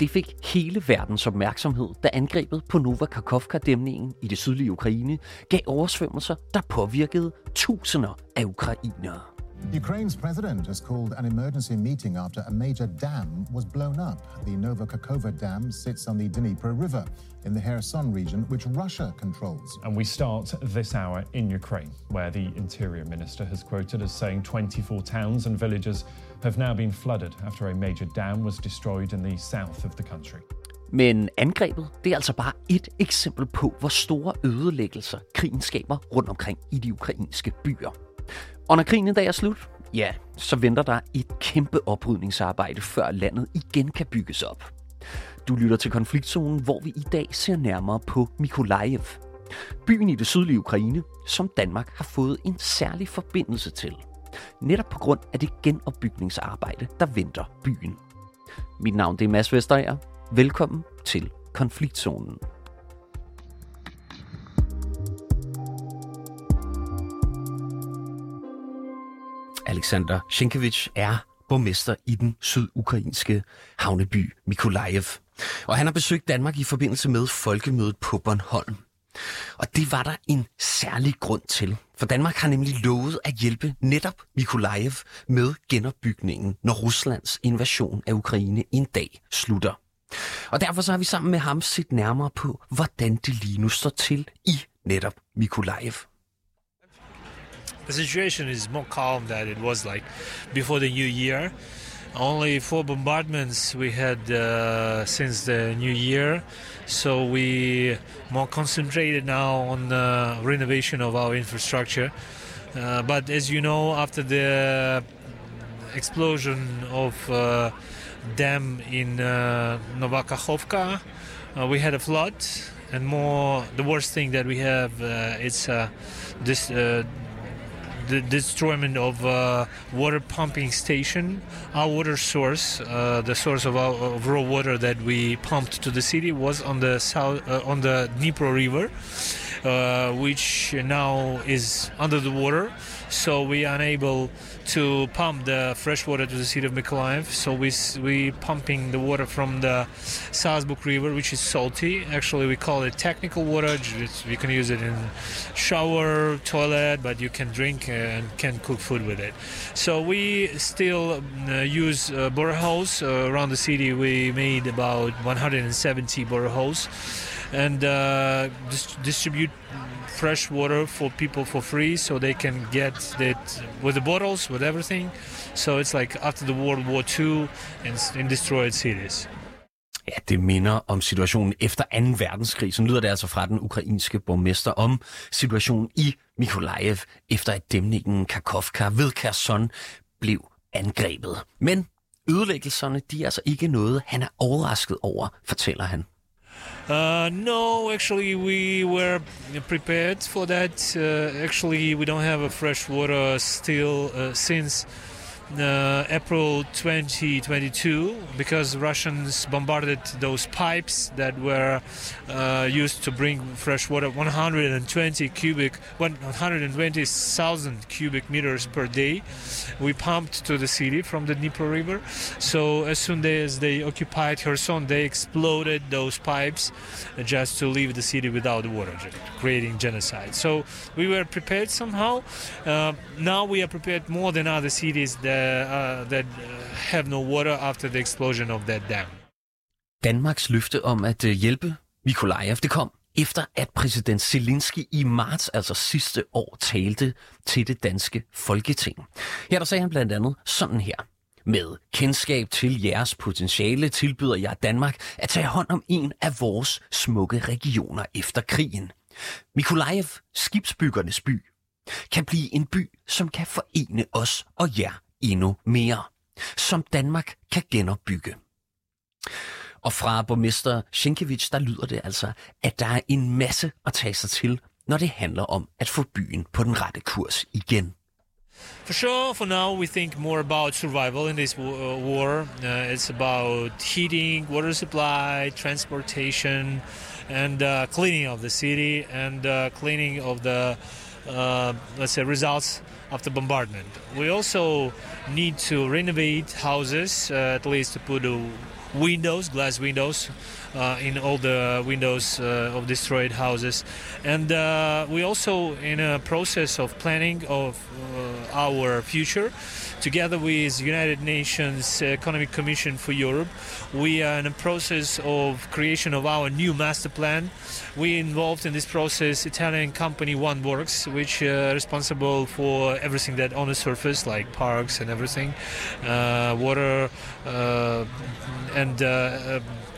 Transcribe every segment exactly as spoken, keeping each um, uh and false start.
Det fik hele verdens opmærksomhed, da angrebet på Nova Kakhovka-dæmningen i det sydlige Ukraine gav oversvømmelser, der påvirkede tusinder af ukrainere. Ukraine's president has called an emergency meeting after a major dam was blown up. The Nova Kakhovka Dam sits on the Dnipro River in the Kherson region, which Russia controls. And we start this hour in Ukraine, where the Interior Minister has quoted as saying twenty-four towns and villages have now been flooded after a major dam was destroyed in the south of the country. Men angrebet, det er altså bare et eksempel på, hvor store ødelæggelser krigen skaber rundt omkring i de ukrainske byer. Og når krigen en dag er slut, ja, så venter der et kæmpe oprydningsarbejde, før landet igen kan bygges op. Du lytter til Konfliktzonen, hvor vi i dag ser nærmere på Mykolaiv. Byen i det sydlige Ukraine, som Danmark har fået en særlig forbindelse til. Netop på grund af det genopbygningsarbejde, der venter byen. Mit navn det er Mads Vesterager. Velkommen til Konfliktzonen. Alexander Sienkiewicz er borgmester i den sydukrainske havneby Mykolaiv. Og han har besøgt Danmark i forbindelse med folkemødet på Bornholm. Og det var der en særlig grund til, for Danmark har nemlig lovet at hjælpe netop Mykolaiv med genopbygningen, når Ruslands invasion af Ukraine en dag slutter. Og derfor så har vi sammen med ham set nærmere på, hvordan det lige nu står til i netop Mykolaiv. The situation is more calm than it was like before the new year. Only four bombardments we had uh, since the new year, so we more concentrated now on the renovation of our infrastructure. Uh, but as you know, after the explosion of uh, dam in uh, Nova Kakhovka, uh, we had a flood, and more the worst thing that we have uh, it's uh, this. Uh, The destroyment of uh, water pumping station. Our water source, uh, the source of our of raw water that we pumped to the city, was on the south, uh, on the Dnipro River, uh, which now is under the water. So we are unable to pump the fresh water to the city of Mykolaiv. So we we pumping the water from the Salzburg River, which is salty. Actually, we call it technical water. It's, you can use it in shower, toilet, but you can drink and can cook food with it. So we still uh, use uh, boreholes uh, around the city. We made about one hundred seventy boreholes and uh, dis- distribute fresh water for people for free, so they can get it with the bottles, with everything. So it's like after the World War Two in, in destroyed cities. Ja, det minder om situationen efter anden verdenskrig. Så lyder det altså fra den ukrainske borgmester om situationen i Mykolaiv, efter at dæmningen Kakhovka ved Kherson blev angrebet. Men ødelæggelserne, de er altså ikke noget, han er overrasket over, fortæller han. Uh, no, actually we were prepared for that. Uh, actually, we don't have a fresh water still uh, since uh, April twenty twenty-two, because Russians bombarded those pipes that were uh, used to bring fresh water, one hundred twenty cubic, one hundred twenty thousand cubic meters per day. We pumped to the city from the Dnipro River. So as soon as they occupied Kherson, they exploded those pipes just to leave the city without water, creating genocide. So we were prepared somehow. Uh, now we are prepared more than other cities that Uh, that uh, have no water after the explosion of that dam. Danmarks løfte om at uh, hjælpe Mykolaiv, det kom efter at præsident Zelensky i marts, altså sidste år, talte til det danske Folketing. Her der sagde han blandt andet sådan her: med kendskab til jeres potentiale tilbyder jeg Danmark at tage hånd om en af vores smukke regioner efter krigen. Mykolaiv, skibsbyggernes by, kan blive en by, som kan forene os og jer endnu mere, som Danmark kan genopbygge. Og fra borgmester Sienkiewicz, der lyder det altså, at der er en masse at tage sig til, når det handler om at få byen på den rette kurs igen. For sure, for now we think more about survival in this war. Uh, it's about heating, water supply, transportation, and uh, cleaning of the city, and uh, cleaning of the, uh, let's say, results of the bombardment. We also need to renovate houses, uh, at least to put a windows, glass windows, uh, in all the windows uh, of destroyed houses. And uh, we also in a process of planning of uh, our future. Together with United Nations Economic Commission for Europe, we are in a process of creation of our new master plan. We involved in this process Italian company OneWorks, which is uh, responsible for everything that on the surface, like parks and everything, uh, water uh, and uh, uh,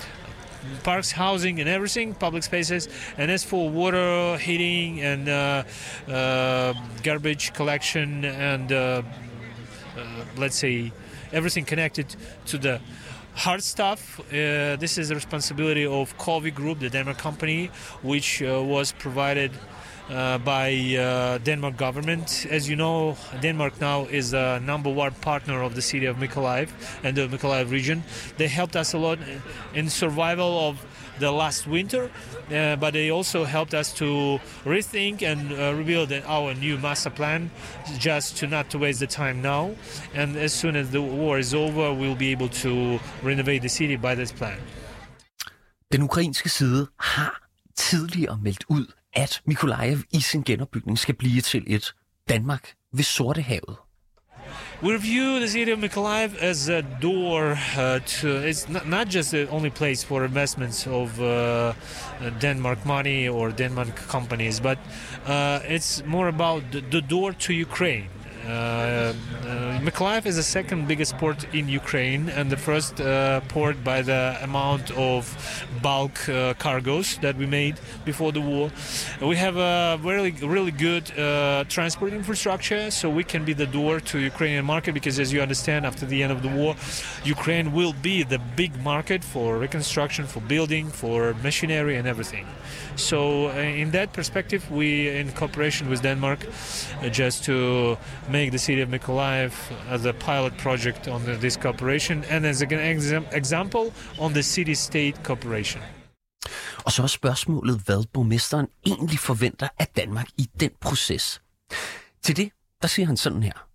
parks, housing and everything, public spaces. And as for water, heating and uh, uh, garbage collection and uh, Uh, let's say everything connected to the hard stuff. Uh, this is the responsibility of Covi Group, the Denmark company, which uh, was provided uh, by uh, Denmark government. As you know, Denmark now is a number one partner of the city of Mykolaiv and the Mykolaiv region. They helped us a lot in survival of the last winter, uh, but they also helped us to rethink and uh, rebuild our new master plan, just to not to waste the time now. And as soon as the war is over, we'll be able to renovate the city by this plan. Den ukrainske side har tidligere meldt ud, at Mykolaiv i sin genopbygning skal blive til et Danmark ved Sortehavet. We view the city of Mykolaiv as a door uh, to. It's not, not just the only place for investments of uh, Denmark money or Denmark companies, but uh, it's more about the, the door to Ukraine. Uh, uh, Mykolaiv is the second biggest port in Ukraine and the first uh, port by the amount of bulk uh, cargoes that we made before the war. We have a really, really good uh, transport infrastructure, so we can be the door to Ukrainian market, because as you understand, after the end of the war, Ukraine will be the big market for reconstruction, for building, for machinery and everything. So uh, in that perspective, we, in cooperation with Denmark, uh, just to make the city of Mykolaiv as a pilot project on the, this cooperation, and as an exam- example on the city-state cooperation. Og så er spørgsmålet, hvad borgmesteren egentlig forventer af Danmark i den proces. Til det, der siger han sådan her.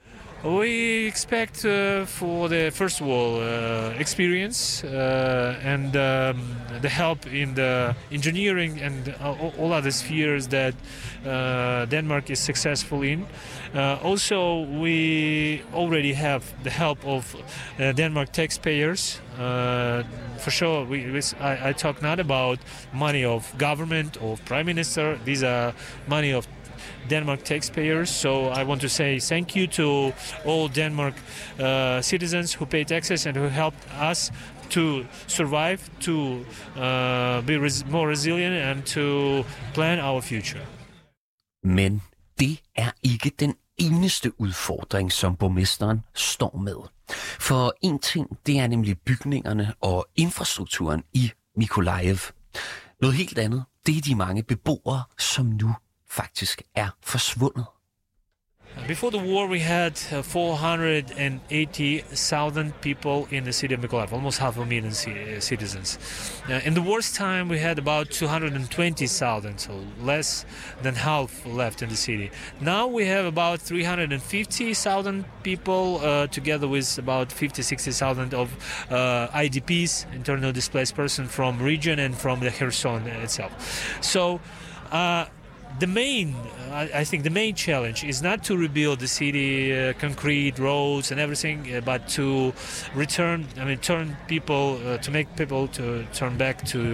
We expect uh, for the first of all uh, experience uh, and um, the help in the engineering and uh, all other spheres that uh, Denmark is successful in. Uh, also, we already have the help of uh, Denmark taxpayers. Uh, for sure, we, we, I, I talk not about money of government or prime minister. These are money of Denmark taxpayers. So I want to say thank you to all Denmark uh, citizens who pay taxes and who helped us to survive, to uh, be res- more resilient and to plan our future. Men det er ikke den eneste udfordring, som borgmesteren står med. For en ting, det er nemlig bygningerne og infrastrukturen i Mykolaiv. Noget helt andet, det er de mange beboere, som nu faktisk er forsvundet. Before the war, we had uh, four hundred eighty thousand people in the city of Mykolaiv, almost half a million c- citizens. Uh, in the worst time, we had about two hundred twenty thousand, so less than half left in the city. Now we have about three hundred fifty thousand people, uh, together with about fifty to sixty thousand of uh, I D Ps, internal displaced persons from region and from the Kherson itself. So, uh, The main, I, I think the main challenge is not to rebuild the city, uh, concrete roads and everything, uh, but to return, I mean, turn people, uh, to make people to turn back to,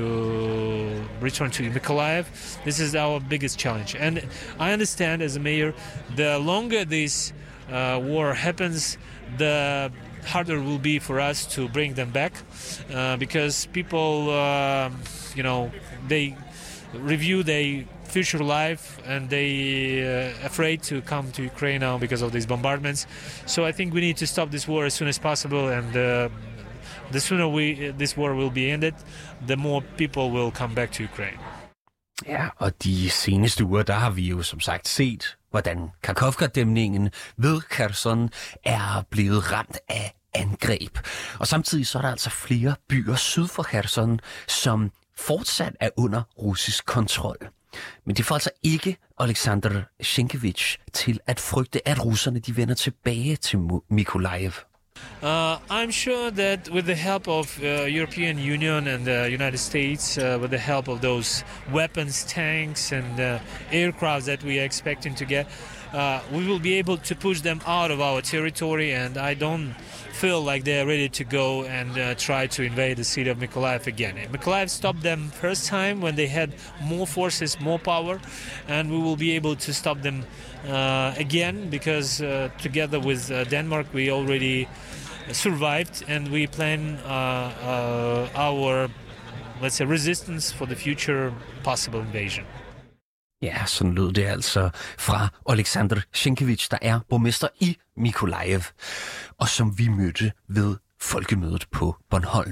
return to Mykolaiv. This is our biggest challenge. And I understand as a mayor, the longer this uh, war happens, the harder it will be for us to bring them back, uh, because people, uh, you know, they review their future life and they uh, afraid to come to Ukraine now because of these bombardments. So I think we need to stop this war as soon as possible, and uh, the sooner we this war will be ended, the more people will come back to Ukraine. Ja, og de seneste uger, der har vi jo som sagt set, hvordan Kakhovka-dæmningen ved Kherson er blevet ramt af angreb. Og samtidig så er der altså flere byer syd for Kherson, som fortsat er under russisk kontrol. Men det får altså ikke Alexander Sienkiewicz til at frygte, at russerne de vender tilbage til Mykolaiv. Uh, I'm sure that with the help of uh, European Union and the United States, uh, with the help of those weapons, tanks and uh, aircraft that we are expecting to get, uh, we will be able to push them out of our territory, and I don't feel like they're ready to go and uh, try to invade the city of Mykolaiv again. Mykolaiv stopped them first time when they had more forces, more power, and we will be able to stop them uh, again because uh, together with uh, Denmark we already survived, and we plan uh, uh, our, let's say, resistance for the future possible invasion. Ja, sådan lød det altså fra Oleksandr Sienkiewicz, der er borgmester i Mykolaiv, og som vi mødte ved folkemødet på Bornholm.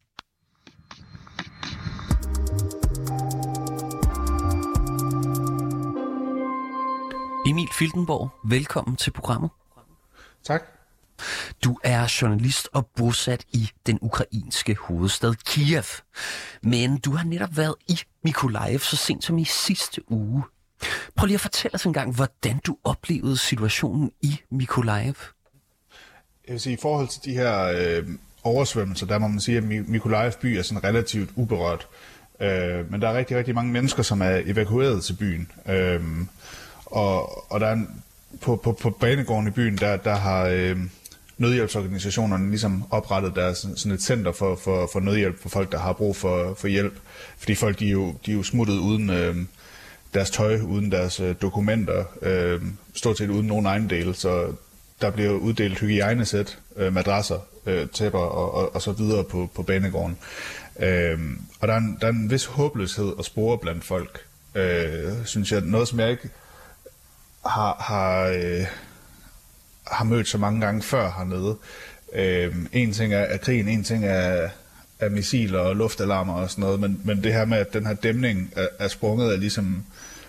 Emil Filtenborg, velkommen til programmet. Tak. Du er journalist og bosat i den ukrainske hovedstad Kiev. Men du har netop været i Mykolaiv så sent som i sidste uge. Prøv lige at fortælle os en gang, hvordan du oplevede situationen i Mykolaiv. Jeg vil sige, i forhold til de her øh, oversvømmelser, der må man sige, at Mykolaiv by er sådan relativt uberørt. Øh, men der er rigtig, rigtig mange mennesker, som er evakueret til byen. Øh, og, og der er en, på, på, på banegården i byen, der, der har øh, nødhjælpsorganisationerne ligesom oprettet deres sådan et center for, for, for nødhjælp for folk, der har brug for, for hjælp. Fordi folk, de er jo, de er jo smuttet uden øh, deres tøj, uden deres øh, dokumenter, øh, stort set uden nogen ejendel, så der bliver uddelt hygiejnesæt, øh, madrasser, øh, tæpper og, og, og så videre på, på banegården. Øh, og der er, en, der er en vis håbløshed at spore blandt folk, øh, synes jeg. Noget, som jeg ikke har, har, øh, har mødt så mange gange før hernede. Øh, en ting er, er krigen, en ting er, er missiler og luftalarmer og sådan noget, men, men det her med, at den her dæmning er, er sprunget af ligesom...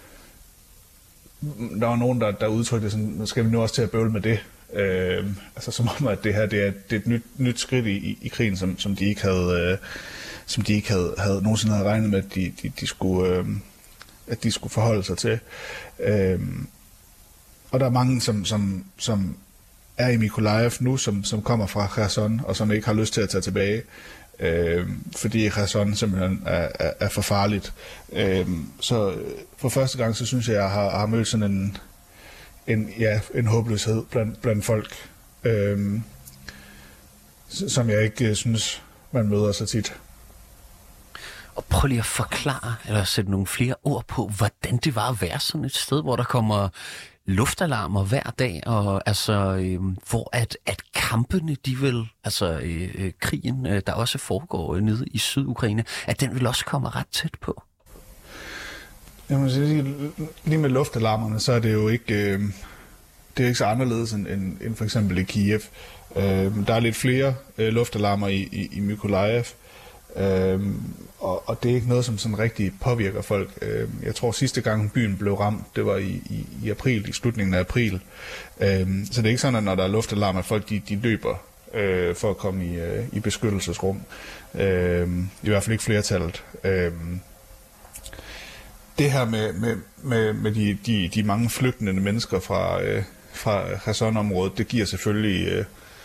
Der var nogen, der, der udtrykte sådan, skal vi nu også til at bøvle med det? Øh, altså som om, at det her det er, det er et nyt, nyt skridt i, i, i krigen, som, som de ikke havde, øh, som de ikke havde, havde nogensinde havde regnet med, at de, de, de skulle, øh, at de skulle forholde sig til. Øh, og der er mange, som, som, som er i Mykolaiv nu, som, som kommer fra Kherson, og som ikke har lyst til at tage tilbage. Øh, fordi Kherson simpelthen er, er, er for farligt. Øh, så for første gang, så synes jeg, at jeg har, har mødt sådan en, en, ja, en håbløshed blandt, blandt folk, øh, som jeg ikke synes, man møder så tit. Og prøv lige at forklare, eller sætte nogle flere ord på, hvordan det var at være sådan et sted, hvor der kommer luftalarmer hver dag, og altså, øh, hvor at, at kampene, de vil, altså øh, krigen, øh, der også foregår øh, nede i Sydukraine, at den vil også komme ret tæt på. Jamen, lige med luftalarmerne, så er det jo ikke, øh, det er ikke så anderledes end, end, end for eksempel i Kiev. Øh, der er lidt flere øh, luftalarmer i, i, i Mykolaiv, øh, og, og det er ikke noget, som sådan rigtig påvirker folk. Øh, jeg tror, sidste gang byen blev ramt, det var i, i, i april, i slutningen af april. Øh, så det er ikke sådan, at når der er luftalarmer, folk de, de løber øh, for at komme i, øh, i beskyttelsesrum. Øh, I hvert fald ikke flertallet. Øh, Det her med, med, med, med de, de, de mange flygtende mennesker fra, øh, fra Kherson-området, det giver selvfølgelig øh,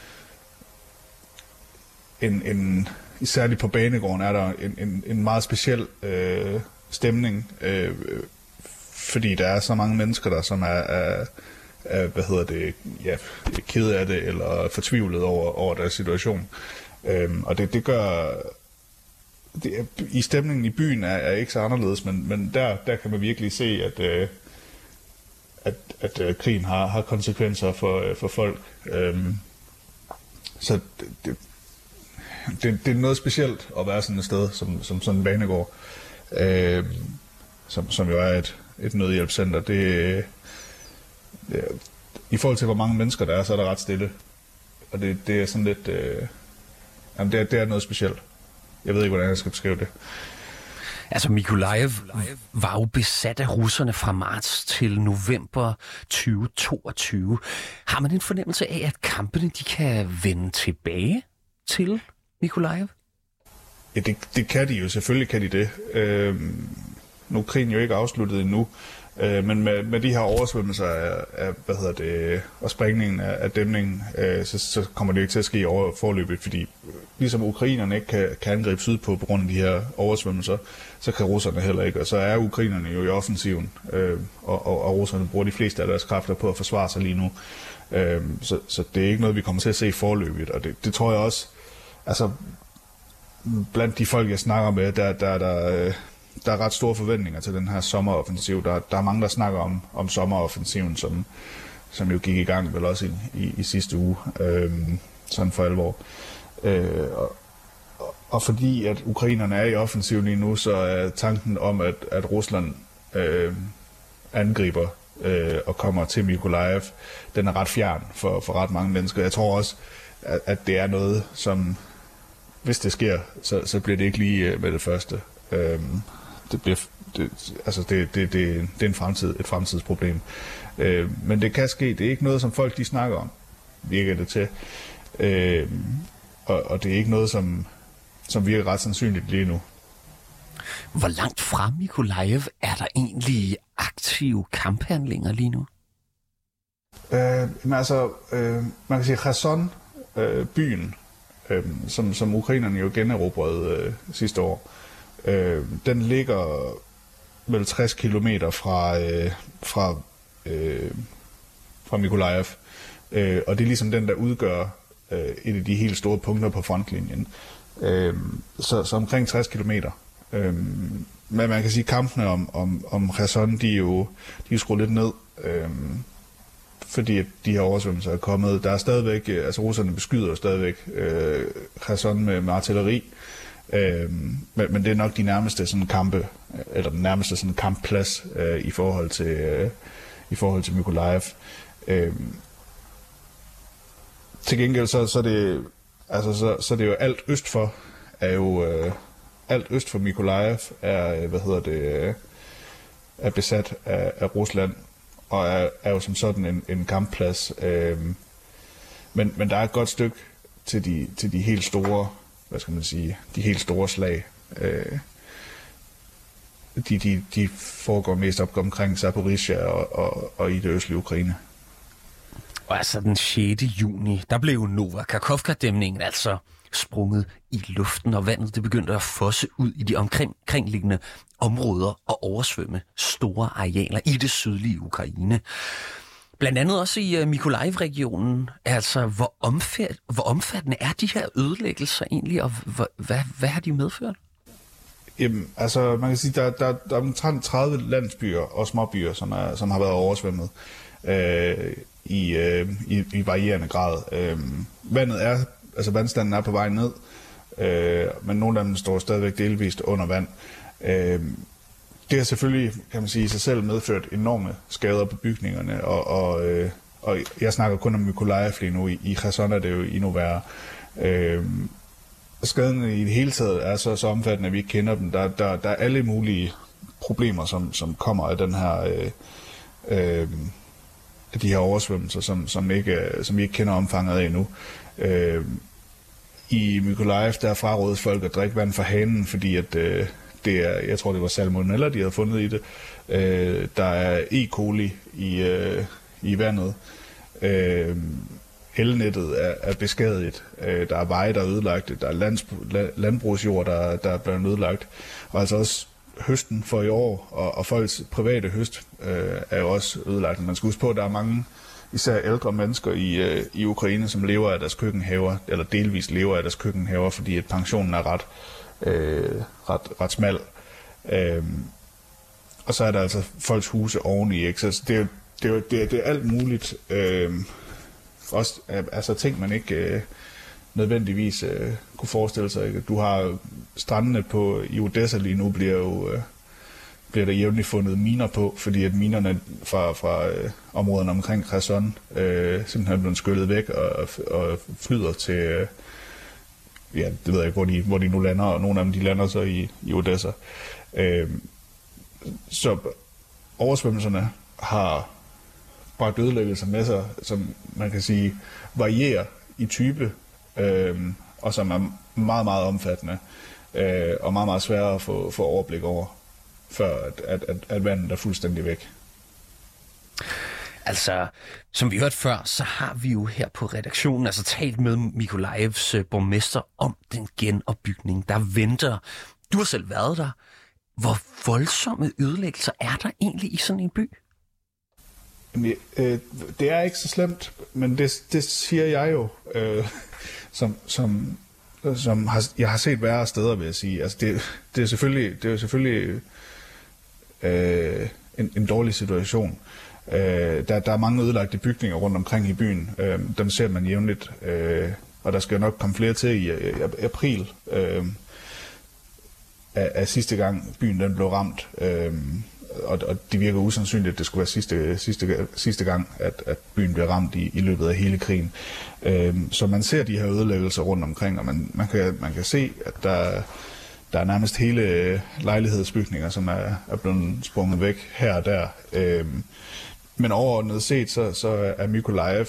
en, en, særligt på banegården er der en, en, en meget speciel øh, stemning, øh, fordi der er så mange mennesker der, som er, er, er hvad hedder det, ja, kede af det eller fortvivlet over, over deres situation. Øh, og det, det gør... Det er, i stemningen i byen er, er ikke så anderledes, men, men der, der kan man virkelig se, at, øh, at, at øh, krigen har, har konsekvenser for, øh, for folk. Øhm, så det, det, det, det er noget specielt at være sådan et sted, som, som sådan en banegård, øh, som, som jo er et, et nødhjælpscenter. Det, det, i forhold til, hvor mange mennesker der er, så er der ret stille. Og det, det er sådan lidt... Øh, jamen det, det er noget specielt. Jeg ved ikke, hvordan jeg skal beskrive det. Altså, Mykolaiv var jo besat af russerne fra marts til november tyve toogtyve. Har man en fornemmelse af, at kampene de kan vende tilbage til Mykolaiv? Ja, det, det kan de jo. Selvfølgelig kan de det. Øhm, nu er krigen jo ikke afsluttet endnu. Øh, men med, med de her oversvømmelser af, af hvad hedder det, og sprængningen af, af dæmningen, øh, så, så kommer det ikke til at ske over forløbet, fordi ligesom ukrainerne ikke kan, kan angribe sydpå på grund af de her oversvømmelser, så kan russerne heller ikke, og så er ukrainerne jo i offensiven, øh, og, og, og russerne bruger de fleste af deres kræfter på at forsvare sig lige nu. Øh, så, så det er ikke noget, vi kommer til at se forløbet, og det, det tror jeg også, altså blandt de folk, jeg snakker med, der, der, der, der er ret store forventninger til den her sommeroffensiv. Der, der er mange, der snakker om, om sommeroffensiven, som, som jo gik i gang vel også i, i, i sidste uge, øh, sådan for alvor. Øh, og, og fordi at ukrainerne er i offensiv lige nu, så er tanken om, at, at Rusland øh, angriber øh, og kommer til Mykolaiv, den er ret fjern for, for ret mange mennesker. Jeg tror også, at, at det er noget, som hvis det sker, så, så bliver det ikke lige med det første. Øhm, det bliver, det, altså det, det, det, det er en fremtid, et fremtidsproblem. Øhm, men det kan ske. Det er ikke noget, som folk de snakker om, virker det til. Øhm, og, og det er ikke noget, som, som virker ret sandsynligt lige nu. Hvor langt fra Mykolaiv er der egentlig aktive kamphandlinger lige nu? Øh, men altså, øh, man kan sige, Kherson, øh, byen, Øhm, som, som ukrainerne jo generobrede øh, sidste år. Øh, den ligger vel tres kilometer fra, øh, fra, øh, fra Mykolaiv. Øh, og det er ligesom den, der udgør øh, et af de helt store punkter på frontlinjen. Øh, så, så omkring tres kilometer. Øh, men man kan sige, at kampene om, om, om Kherson, de er jo de er skruet lidt ned. Øh, fordi de her oversvømmelser er kommet. Der er stadigvæk, altså russerne beskyder stadigvæk øh, Kherson med, med artilleri, øh, men, men det er nok de nærmeste sådan kampe, eller den nærmeste sådan kampplads øh, i forhold til øh, i forhold til Mykolaiv. Øh, til gengæld så, så er det altså så, så er det jo alt øst for er jo øh, alt øst for Mykolaiv er hvad hedder det øh, er besat af, af Rusland. Og er, er jo som sådan en, en kampplads. Øhm, men, men der er et godt stykke til de, til de helt store, hvad skal man sige, de helt store slag. Øh, de, de, de foregår mest op omkring Zaporizhzhia og, og, og i det østlige Ukraine. Og altså den sjette juni, der blev Nova Kakhovka-dæmningen altså sprunget i luften, og vandet det begyndte at fosse ud i de omkringliggende områder og oversvømme store arealer i det sydlige Ukraine. Blandt andet også i uh, Mykolaiv-regionen. Altså, hvor, omfat, hvor omfattende er de her ødelæggelser egentlig, og hvad, hvad, hvad har de medført? Jamen, altså, man kan sige, der, der, der er omtrent tredive landsbyer og småbyer, som, er, som har været oversvømmet øh, i, øh, i, i varierende grad. Øh, vandet er, altså vandstanden er på vej ned, øh, men nogle af dem står stadigvæk delvist under vand. Øh, det har selvfølgelig, kan man sige, i sig selv medført enorme skader på bygningerne, og, og, øh, og jeg snakker kun om Mykolaiv lige nu. I, i Kherson er det jo endnu værre. Øh, skaden i det hele taget er så, så omfattende, at vi ikke kender dem. Der, der, der er alle mulige problemer, som, som kommer af den her, øh, øh, de her oversvømmelser, som, som, ikke, som vi ikke kender omfanget af endnu. Øh, I Mykolaiv, der frarådes folk at drikke vand fra hanen, fordi at øh, det er, jeg tror det var salmonella, de havde fundet i det. Øh, der er E. coli i, øh, i vandet. Øh, elnettet er, er beskadiget. Øh, der er veje, der er ødelagt. Der er lands, landbrugsjord, der, der er blevet ødelagt. Og altså også høsten for i år, og, og folks private høst øh, er jo også ødelagt. Man skal huske på, at der er mange, især ældre mennesker i, øh, i Ukraine, som lever af deres køkkenhaver, eller delvis lever af deres køkkenhaver, fordi at pensionen er ret, øh, ret, ret smal. Øh, og så er der altså folks huse oveni, ikke? Så det er, det er, det er, det er alt muligt. Øh, også, altså ting, man ikke øh, nødvendigvis øh, kunne forestille sig. Ikke? Du har strandene på, i Odessa lige nu, bliver jo øh, bliver der jævnligt fundet miner på, fordi at minerne fra, fra øh, områderne omkring Kherson øh, simpelthen er blevet skyllet væk og, og flyder til, øh, ja, det ved jeg ikke, hvor de, hvor de nu lander, og nogle af dem, de lander så i, i Odessa. Øh, så oversvømmelserne har bragt ødelæggelser med sig, som man kan sige varierer i type, øh, og som er meget, meget omfattende, øh, og meget, meget svære at få, få overblik over, før at, at, at, at vandet er fuldstændig væk. Altså, som vi hørte før, så har vi jo her på redaktionen altså talt med Mykolajivs borgmester om den genopbygning, der venter. Du har selv været der. Hvor voldsomme ødelæggelser er der egentlig i sådan en by? Jamen, øh, det er ikke så slemt, men det, det siger jeg jo, øh, som, som, som har, jeg har set værre steder, vil jeg sige. Altså, det, det er selvfølgelig, det er selvfølgelig øh, en, en dårlig situation. Øh, der, der er mange ødelagte bygninger rundt omkring i byen. Øh, dem ser man jævnligt, øh, og der skal nok komme flere til i, i april øh, af, af sidste gang byen den blev ramt. Øh, og, og det virker usandsynligt, at det skulle være sidste, sidste, sidste gang, at, at byen bliver ramt i, i løbet af hele krigen. Øh, så man ser de her ødelæggelser rundt omkring, og man, man, kan, man kan se, at der, der er nærmest hele lejlighedsbygninger, som er, er blevet sprunget væk her og der. Øh, men overordnet set, så, så er Mykolajiv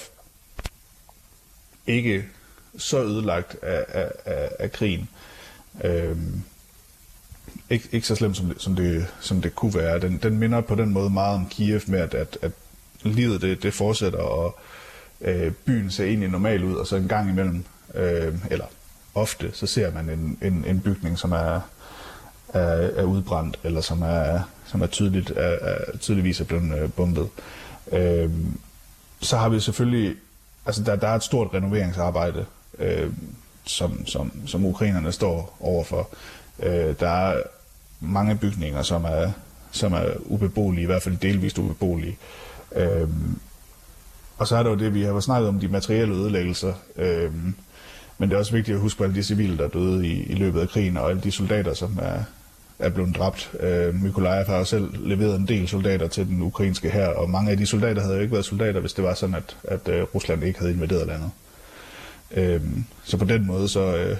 ikke så ødelagt af, af, af, af krigen. Øh, Ikke, ikke så slemt, som det, som det, som det kunne være. Den, den minder på den måde meget om Kiev med, at, at, at livet det, det fortsætter, og øh, byen ser egentlig normal ud, og så en gang imellem, øh, eller ofte, så ser man en, en, en bygning, som er, er, er udbrændt, eller som er, som er, tydeligt, er, er tydeligvis er blevet øh, bombet. Øh, så har vi selvfølgelig, altså der, der er et stort renoveringsarbejde, øh, som, som, som ukrainerne står overfor. Øh, der er mange bygninger, som er, som er ubeboelige, i hvert fald delvist ubeboelige. Øhm, og så er der jo det, vi har snakket om, de materielle ødelæggelser. Øhm, men det er også vigtigt at huske på alle de civile, der er døde i, i løbet af krigen, og alle de soldater, som er, er blevet dræbt. Øh, Mykolajiv har jo selv leveret en del soldater til den ukrainske hær, og mange af de soldater havde jo ikke været soldater, hvis det var sådan, at, at uh, Rusland ikke havde invaderet landet. Øhm, så på den måde, så... Øh,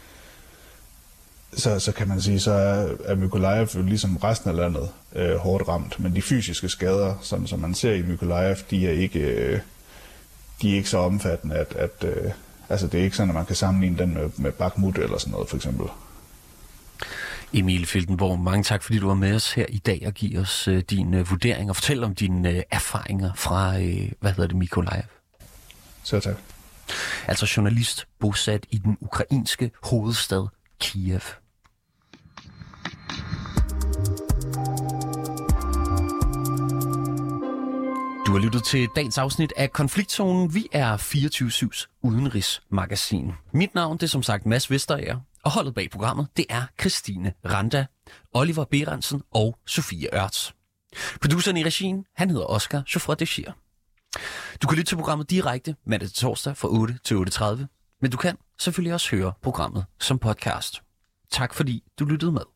Så, så kan man sige, så er, er Mykolajiv jo ligesom resten af landet øh, hårdt ramt, men de fysiske skader, som, som man ser i Mykolajiv, de er ikke, øh, de er ikke så omfattende, at, at øh, altså det er ikke sådan, at man kan sammenligne den med, med Bakhmut eller sådan noget, for eksempel. Emil Filtenborg, mange tak, fordi du var med os her i dag og giver os øh, din øh, vurdering og fortæl om dine øh, erfaringer fra, øh, hvad hedder det, Mykolajiv. Så tak. Altså journalist bosat i den ukrainske hovedstad Kiev. Du har lyttet til dagens afsnit af Konfliktzonen. Vi er fireogtyve syvs udenrigsmagasin. Mit navn det er som sagt Mads Vesterager, og holdet bag programmet det er Christine Randa, Oliver Berensen og Sofie Ørts. Produceren i regien, han hedder Oscar Chauffeur de Chier. Du kan lytte til programmet direkte mandag til torsdag fra otte til otte tredive, men du kan selvfølgelig også høre programmet som podcast. Tak fordi du lyttede med.